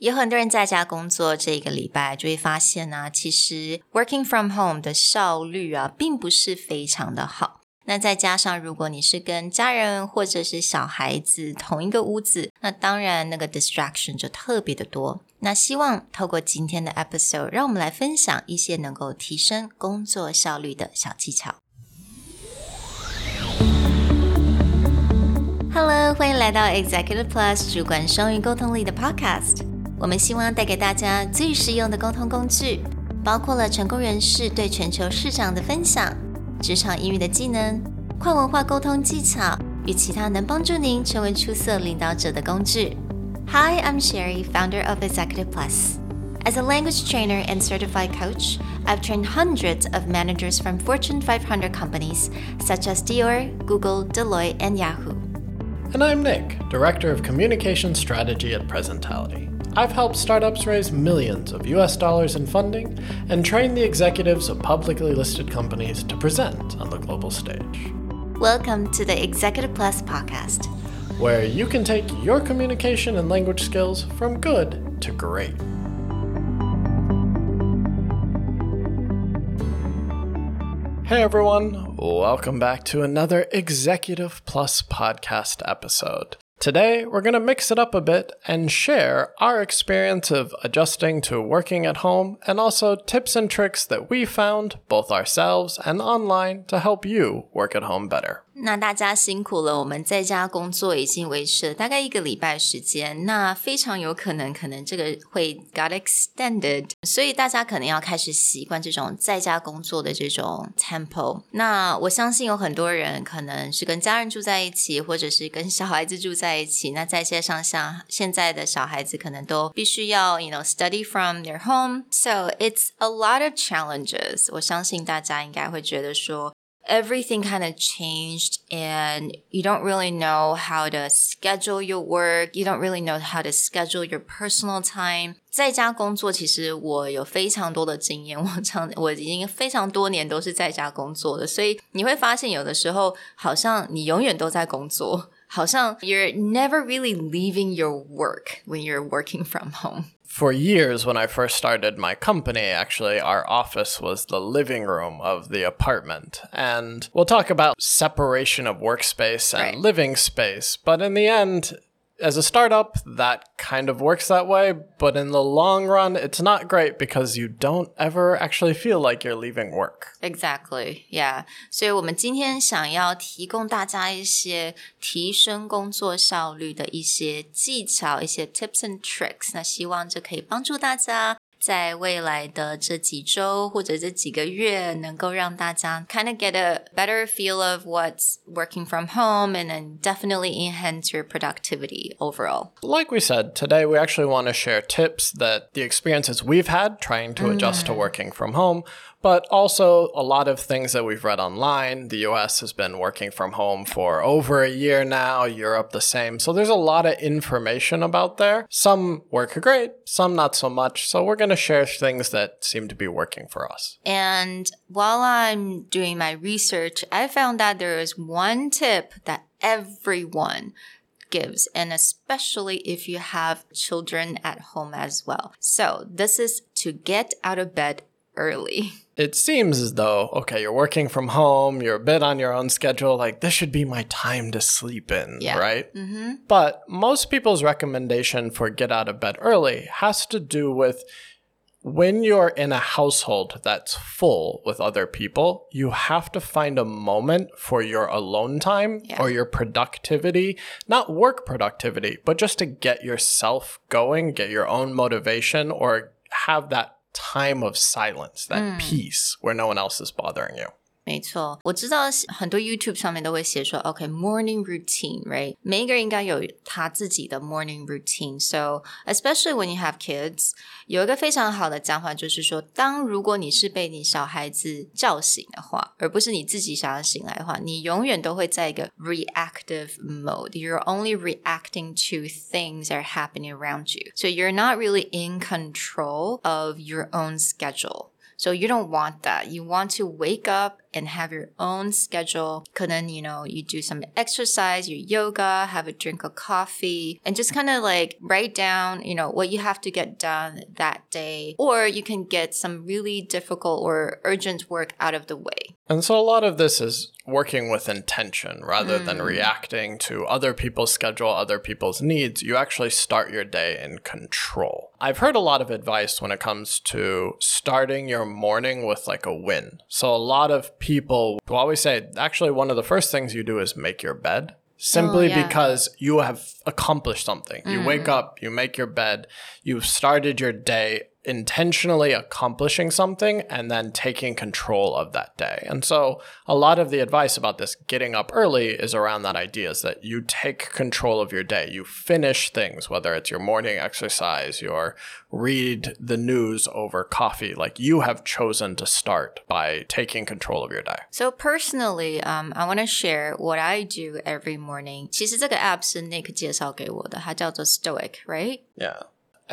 有很多人在家工作这个礼拜就会发现啊，其实 working from home 的效率啊并不是非常的好。那再加上如果你是跟家人或者是小孩子同一个屋子，那当然那个 distraction 就特别的多。那希望透过今天的 episode 让我们来分享一些能够提升工作效率的小技巧。Hello， 欢迎来到 Executive Plus 主管双语沟通力的 podcast。我们希望带给大家最实用的沟通工具，包括了成功人士对全球市场的分享、职场英语的技能、跨文化沟通技巧与其他能帮助您成为出色领导者的工具。Hi, I'm Sherry, founder of Executive Plus. As a language trainer and certified coach, I've trained hundreds of managers from Fortune 500 companies such as Dior, Google, Deloitte, and Yahoo.And I'm Nick, Director of Communication Strategy at Presentality.I've helped startups raise millions of US dollars in funding and train the executives of publicly listed companies to present on the global stage. Welcome to the Executive Plus podcast, where you can take your communication and language skills from good to great. Hey everyone, welcome back to another Executive Plus podcast episode.Today, we're going to mix it up a bit and share our experience of adjusting to working at home and also tips and tricks that we found both ourselves and online to help you work at home better. 那大家辛苦了，我们在家工作已经维持了大概1个礼拜时间，那非常有可能这个会 got extended， 所以大家可能要开始习惯这种在家工作的这种 tempo。 那我相信有很多人可能是跟家人住在一起，或者是跟小孩子住在一起，那再加上像现在的小孩子可能都必须要 study from their home, so it's a lot of challenges. 我相信大家应该会觉得说everything kind of changed and you don't really know how to schedule your work. You don't really know how to schedule your personal time. 在家工作其实我有非常多的经验，我已经非常多年都是在家工作的，所以你会发现有的时候好像你永远都在工作，好像 you're never really leaving your work when you're working from home.For years, when I first started my company, actually, our office was the living room of the apartment. And we'll talk about separation of workspace and living space. But in the end, as a startup, that kind of works that way. But in the long run, it's not great because you don't ever actually feel like you're leaving work. Exactly, yeah. 所以我们今天想要提供大家一些提升工作效率的一些技巧，一些 tips and tricks. 那希望这可以帮助大家在未来的这几周或者这几个月能够让大家 kind of get a better feel of what's working from home and then definitely enhance your productivity overall. Like we said, today we actually want to share tips that the experiences we've had trying to adjust to working from home, but also a lot of things that we've read online. The US has been working from home for over a year now, Europe the same. So there's a lot of information about there. Some work great, some not so much. So we're going to share things that seem to be working for us. And while I'm doing my research, I found that there is one tip that everyone gives, and especially if you have children at home as well. So this is to get out of bed early.It seems as though, okay, you're working from home, you're a bit on your own schedule, like this should be my time to sleep in, right? Mm-hmm. But most people's recommendation for get out of bed early has to do with when you're in a household that's full with other people, you have to find a moment for your alone time or your productivity, not work productivity, but just to get yourself going, get your own motivation, or have that time of silence, that peace where no one else is bothering you. 没错，我知道很多 YouTube 上面都会写说 OK, morning routine, right? 每一个人应该有他自己的 morning routine. So, especially when you have kids, 有一个非常好的讲法就是说，如果你是被你小孩子叫醒的话，而不是你自己想要醒来的话，你永远都会在一个 reactive mode. You're only reacting to things that are happening around you. So you're not really in control of your own schedule.So you don't want that. You want to wake up and have your own schedule. 可能, you do some exercise, your yoga, have a drink of coffee, and just kind of like write down, what you have to get done that day. Or you can get some really difficult or urgent work out of the way. And so a lot of this is working with intention rather than reacting to other people's schedule, other people's needs. You actually start your day in control. I've heard a lot of advice when it comes to starting your morning with like a win. So a lot of people will always say, actually, one of the first things you do is make your bed. Simply because you have accomplished something. You wake up, you make your bed, you've started your day intentionally accomplishing something and then taking control of that day. And so a lot of the advice about this getting up early is around that idea, is that you take control of your day. You finish things, whether it's your morning exercise, your read the news over coffee, like you have chosen to start by taking control of your day. So personally, I want to share what I do every morning. 其实这个 app 是 Nick 介绍给我的，它叫做 Stoic, right? Yeah.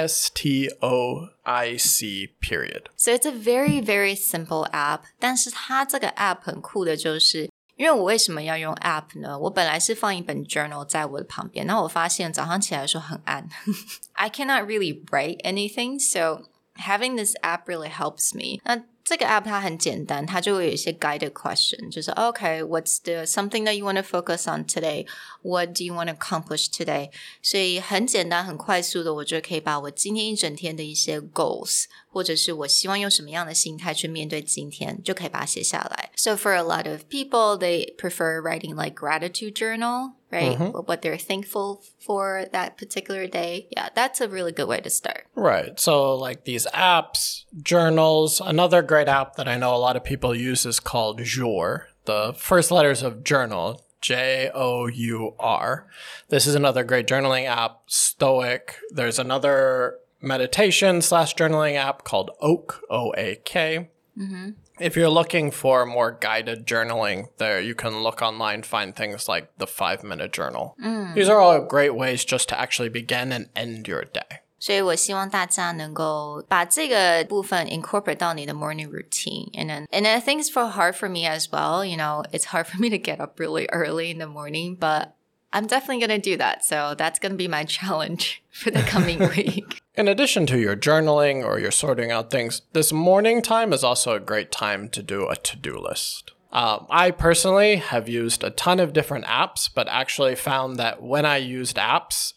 STOIC period. So it's a very, very simple app. 但是它这个 app 很酷的就是，因为我为什么要用 app 呢？我本来是放一本 journal 在我的旁边，然后我发现早上起来的时候很暗。I cannot really write anything, so having this app really helps me. 那这个 app 它很简单，它就会有一些 guided question， 就是 okay, what's the something that you want to focus on today? What do you want to accomplish today? 所以很简单很快速的，我就可以把我今天一整天的一些 goals， 或者是我希望用什么样的心态去面对今天，就可以把它写下来。So for a lot of people, they prefer writing like gratitude journal, right? What they're thankful for that particular day. Yeah, that's a really good way to start. Right. So like these apps, journals, another great app that I know a lot of people use is called Jour. The first letters of journal, Jour. This is another great journaling app, Stoic. There's another meditation/journaling app called Oak, O-A-K. If you're looking for more guided journaling, there you can look online, find things like the 5-minute journal. These are all great ways just to actually begin and end your day. 所以我希望大家能够把这个部分 incorporate 到你的 morning routine. And I think it's hard for me as well. It's hard for me to get up really early in the morning, but I'm definitely going to do that. So that's going to be my challenge for the coming week. In addition to your journaling or your sorting out things, this morning time is also a great time to do a to-do list. I personally have used a ton of different apps, but actually found that when I used apps,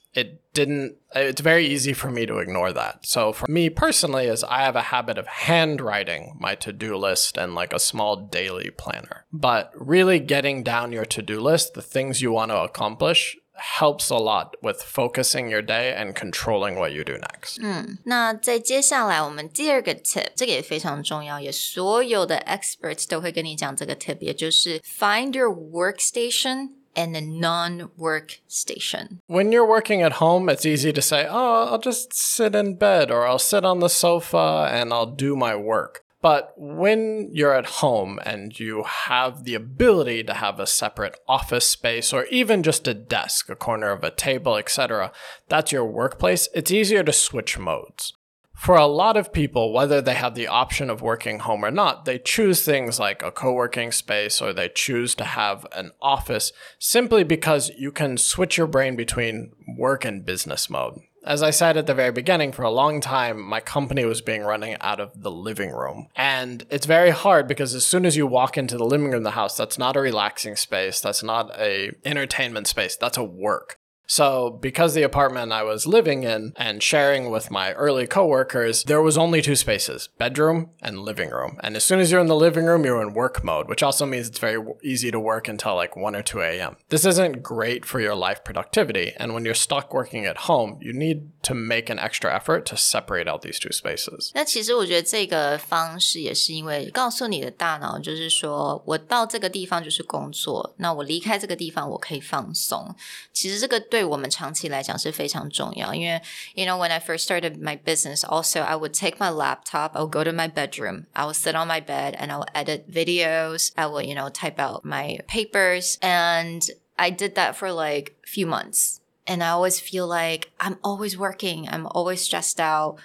it's very easy for me to ignore that. So for me personally, is I have a habit of handwriting my to-do list and like a small daily planner. But really getting down your to-do list, the things you want to accomplish, helps a lot with focusing your day and controlling what you do next. 那在接下来我们第二个 tip， 这个也非常重要，也所有的 experts 都会跟你讲这个 tip， 也就是 find your workstation and a non-workstation. When you're working at home, it's easy to say, oh, I'll just sit in bed or I'll sit on the sofa and I'll do my work. But when you're at home and you have the ability to have a separate office space or even just a desk, a corner of a table, etc., that's your workplace, it's easier to switch modes. For a lot of people, whether they have the option of working home or not, they choose things like a co-working space or they choose to have an office simply because you can switch your brain between work and business mode. As I said at the very beginning, for a long time, my company was being running out of the living room. And it's very hard because as soon as you walk into the living room of the house, that's not a relaxing space. That's not a entertainment space. That's a work. So because the apartment I was living in and sharing with my early coworkers, there was only 2 spaces, bedroom and living room. And as soon as you're in the living room, you're in work mode, which also means it's very easy to work until like 1 or 2 a.m. This isn't great for your life productivity. And when you're stuck working at home, you need to make an extra effort to separate out these 2 spaces. 那其实我觉得这个方式也是因为告诉你的大脑就是说我到这个地方就是工作，那我离开这个地方我可以放松。其实这个对我们长期来讲是非常重要，因为 when I first started my business also I would take my laptop, I would go to my bedroom, I would sit on my bed and I would edit videos, I would type out my papers, and I did that for like a few months and I always feel like I'm always working, I'm always stressed out.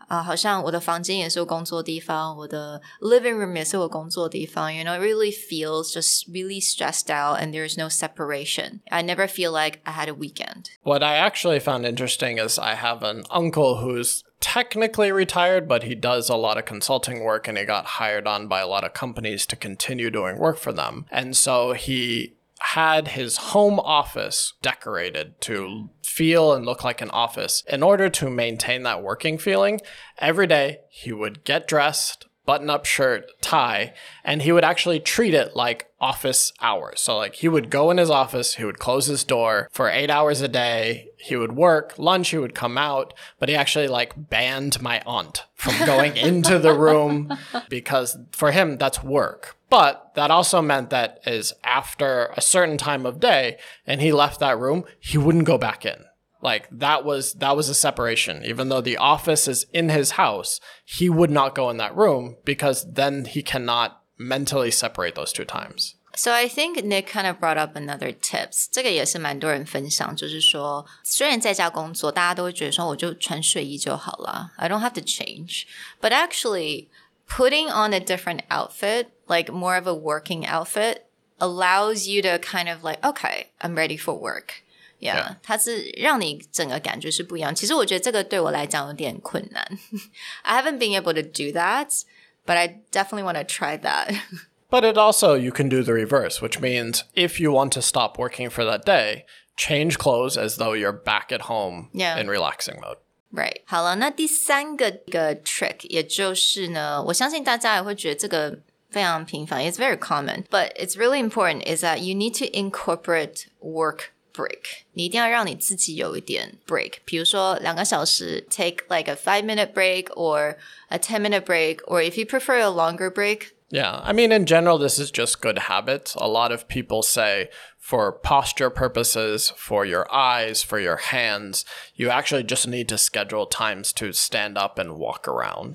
好像我的房间也是我工作的地方，我的 living room 也是我工作的地方 it really feels just really stressed out and there's no separation. I never feel like I had a weekend. What I actually found interesting is I have an uncle who's technically retired, but he does a lot of consulting work and he got hired on by a lot of companies to continue doing work for them. And so he had his home office decorated to feel and look like an office. In order to maintain that working feeling, every day he would get dressed, button-up shirt, tie, and he would actually treat it like office hours. So like he would go in his office, he would close his door for 8 hours a day, he would work, lunch, he would come out, but he actually like banned my aunt from going into the room because for him, that's work. But that also meant that is after a certain time of day and he left that room, he wouldn't go back in. Like that was a separation. Even though the office is in his house, he would not go in that room because then he cannot mentally separate those two times. So I think Nick kind of brought up another tips. 这个也是蛮多人分享，就是说，虽然在家工作，大家都会觉得说，我就穿睡衣就好了 I don't have to change. But actually, putting on a different outfit, like more of a working outfit, allows you to kind of like, okay, I'm ready for work.Yeah, 它是让你整个感觉是不一样。其实我觉得这个对我来讲有点困难。I haven't been able to do that, but I definitely want to try that. But it also, you can do the reverse, which means if you want to stop working for that day, change clothes as though you're back at home in relaxing mode. Right. 好了，那第三个trick 也就是呢，我相信大家也会觉得这个非常频繁 It's very common, but it's really important is that you need to incorporate work.break 你一定要让你自己有一点 break 比如说2个小时 take like a 5-minute break or a 10-minute break or if you prefer a longer break Yeah, I mean, in general, this is just good habits. A lot of people say for posture purposes, for your eyes, for your hands, you actually just need to schedule times to stand up and walk around.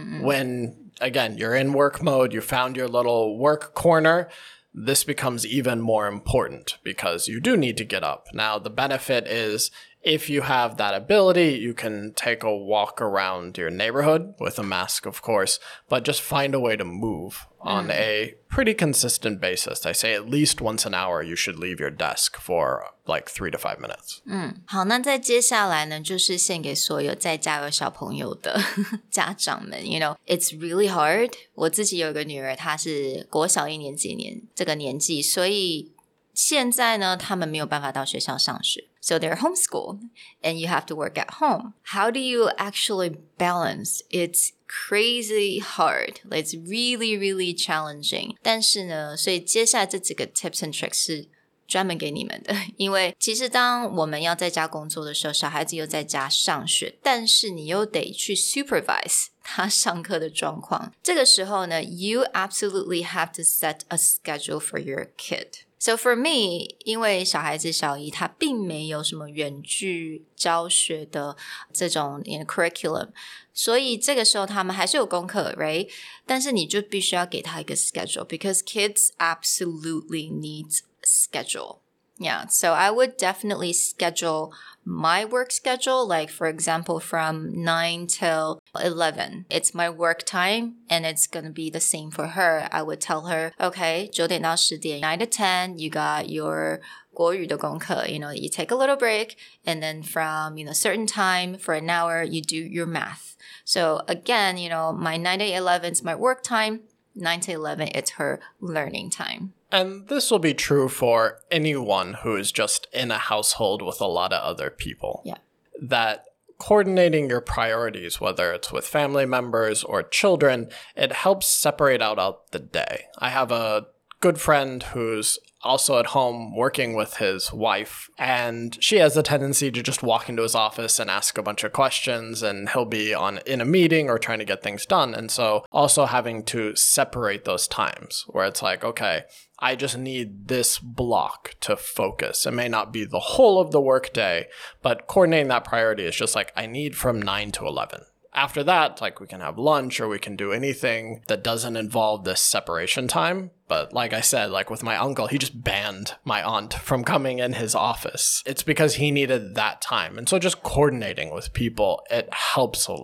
When, again, you're in work mode, you found your little work corner, this becomes even more important because you do need to get up. Now, the benefit is if you have that ability, you can take a walk around your neighborhood with a mask, of course, but just find a way to move on a pretty consistent basis. I say at least once an hour, you should leave your desk for like 3 to 5 minutes. 好，那在接下来呢，就是献给所有在家有小朋友的家长们。You know, it's really hard. 我自己有一个女儿，她是国小1年级这个年纪，所以现在呢，他们没有办法到学校上学。So they're homeschooled and you have to work at home. How do you actually balance? It's crazy hard. It's really, really challenging. 但是呢，所以接下来这几个 tips and tricks 是专门给你们的。因为其实当我们要在家工作的时候，小孩子又在家上学，但是你又得去 supervise 他上课的状况。这个时候呢 you absolutely have to set a schedule for your kid.So for me, 因为小孩子小一，他并没有什么远距教学的这种 curriculum， 所以这个时候他们还是有功课 right? 但是你就必须要给他一个 schedule because kids absolutely need schedule. Yeah, so I would definitely schedule my work schedule, like for example, from 9 till 11. It's my work time and it's going to be the same for her. I would tell her, okay, 9点到10点, 9 to 10, you got your 国语的功课, you know, you take a little break and then from, you know, certain time for an hour, you do your math. So again, you know, my 9 to 11 is my work time. 9 to 11, it's her learning time. And this will be true for anyone who is just in a household with a lot of other people. Yeah. That coordinating your priorities, whether it's with family members or children, it helps separate out the day. I have a good friend who's also at home working with his wife, and she has a tendency to just walk into his office and ask a bunch of questions, and he'll be in a meeting or trying to get things done. And so also having to separate those times where it's like, okay, I just need this block to focus. It may not be the whole of the workday, but coordinating that priority is just like, I need from 9 to 11. After that, like we can have lunch or we can do anything that doesn't involve this separation time. But like I said, like with my uncle, he just banned my aunt from coming in his office. It's because he needed that time. And so just coordinating with people, it helps a lot.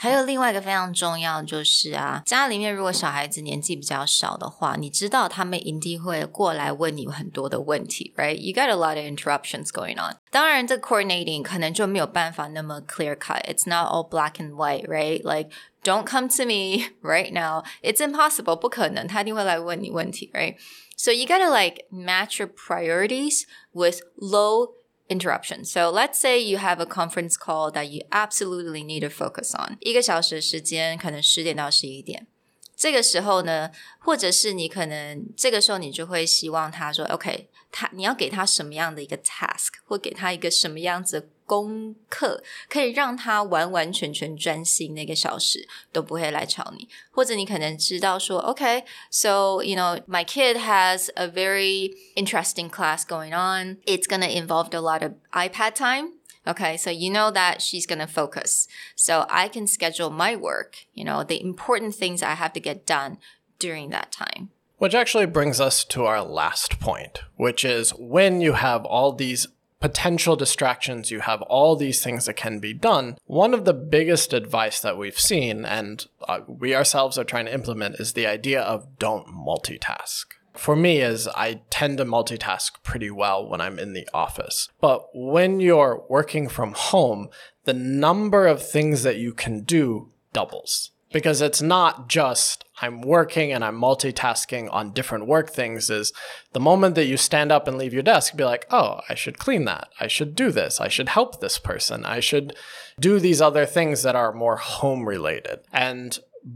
还有另外一个非常重要就是啊，家里面如果小孩子年纪比较小的话，你知道他们一定会过来问你很多的问题 right? You got a lot of interruptions going on. 当然这 coordinating 可能就没有办法那么 clear cut. It's not all black and white, right? Like don't come to me right now. It's impossible. 不可能，他一定会来问你问题 right? So you gotta like match your priorities with low interruption. So let's say you have a conference call that you absolutely need to focus on. 1个小时的时间，可能10点到11点。这个时候呢，或者是你可能这个时候你就会希望他说 OK， 你要给他什么样的一个 task， 或给他一个什么样子的功课，可以让他完完全全专心那个小时都不会来吵你。或者你可能知道说 OK, so you know my kid has a very interesting class going on. It's going to involve a lot of iPad time.Okay, so you know that she's going to focus. So I can schedule my work, you know, the important things I have to get done during that time. Which actually brings us to our last point, which is when you have all these potential distractions, you have all these things that can be done. One of the biggest advice that we've seen, and we ourselves are trying to implement, is the idea of don't multitask. For me, is I tend to multitask pretty well when I'm in the office. But when you're working from home, the number of things that you can do doubles. Because it's not just I'm working and I'm multitasking on different work things. Is the moment that you stand up and leave your desk, be like, oh, I should clean that. I should do this. I should help this person. I should do these other things that are more home related. And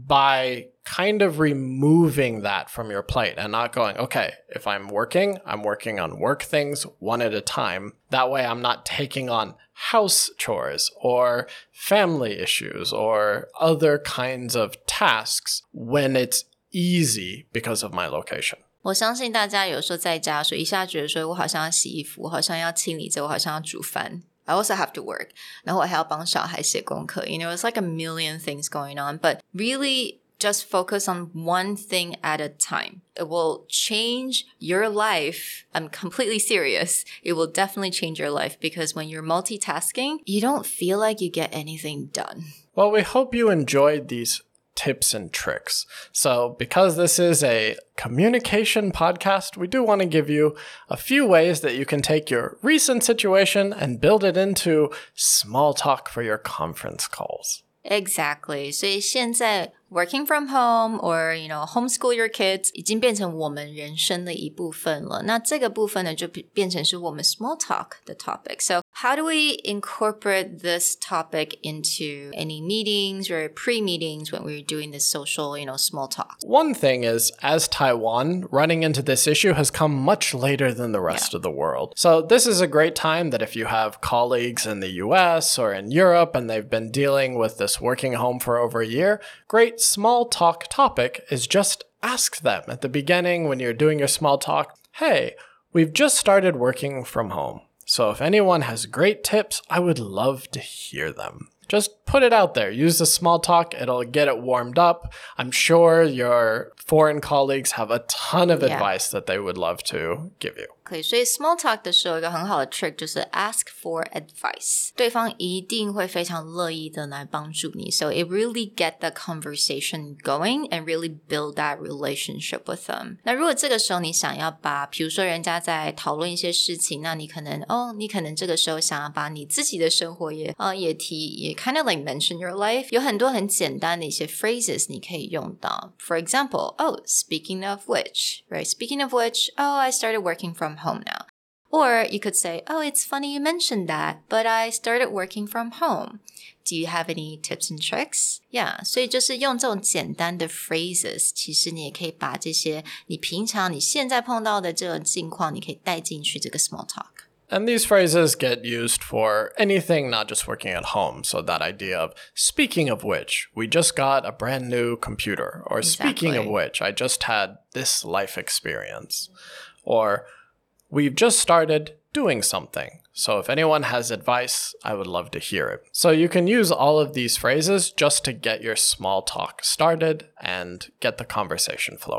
by kind of removing that from your plate and not going, okay, if I'm working on work things one at a time. That way I'm not taking on house chores or family issues or other kinds of tasks when it's easy because of my location. 我相信大家有时候在家说一下觉得说我好像要洗衣服，我好像要清理这，我好像要煮饭。I also have to work. 然后我还要帮小孩写功课。You know, it's like a million things going on. But really just focus on one thing at a time. It will change your life. I'm completely serious. It will definitely change your life because when you're multitasking, you don't feel like you get anything done. Well, we hope you enjoyed these tips and tricks. So because this is a communication podcast, we do want to give you a few ways that you can take your recent situation and build it into small talk for your conference calls. Exactly. 所以现在 working from home or, you know, homeschool your kids 已经变成我们人生的一部分了。那这个部分呢，就变成是我们 small talk 的 topic. So how do we incorporate this topic into any meetings or pre-meetings when we're doing this social, you know, small talk? One thing is, as Taiwan, running into this issue has come much later than the rest of the world. So this is a great time that if you have colleagues in the US or in Europe and they've been dealing with this working home for over a year, great small talk topic is just ask them at the beginning when you're doing your small talk, hey, we've just started working from home. So if anyone has great tips, I would love to hear them. Just put it out there. Use the small talk. It'll get it warmed up. I'm sure your foreign colleagues have a ton of advice that they would love to give you. 可以，所以 small talk 的时候有一个很好的 trick 就是 ask for advice. 对方一定会非常乐意的来帮助你。So it really get the conversation going and really build that relationship with them. 那如果这个时候你想要把，比如说人家在讨论一些事情，那你可能这个时候想要把你自己的生活也提，也 kind of like mention your life. 有很多很简单的一些 phrases 你可以用到。For example, oh, speaking of which, right? Speaking of which, oh, I started working from home now. Or you could say, oh, it's funny you mentioned that, but I started working from home. Do you have any tips and tricks? Yeah, 所以就是用这种简单的 phrases, 其实你也可以把这些你现在碰到的这种境况，你可以带进去这个 small talk. And these phrases get used for anything, not just working at home. So that idea of, speaking of which, we just got a brand new computer. Or speaking of which, I just had this life experience. Or we've just started doing something. So if anyone has advice, I would love to hear it. So you can use all of these phrases just to get your small talk started and get the conversation flowing.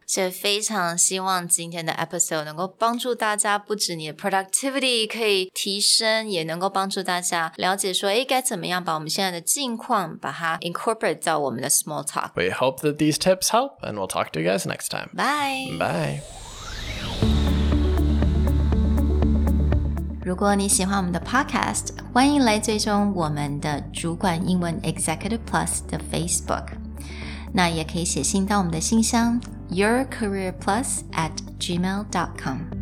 所以非常希望今天的 episode 能够帮助大家，不止你的 productivity 可以提升，也能够帮助大家了解说该怎么样把我们现在的境况把它 incorporate 到我们的 small talk. We hope that these tips help, and we'll talk to you guys next time. Bye. Bye. 如果你喜欢我们的 podcast， 欢迎来追踪我们的主管英文 Executive Plus 的 Facebook， 那也可以写信到我们的信箱yourcareerplus@gmail.com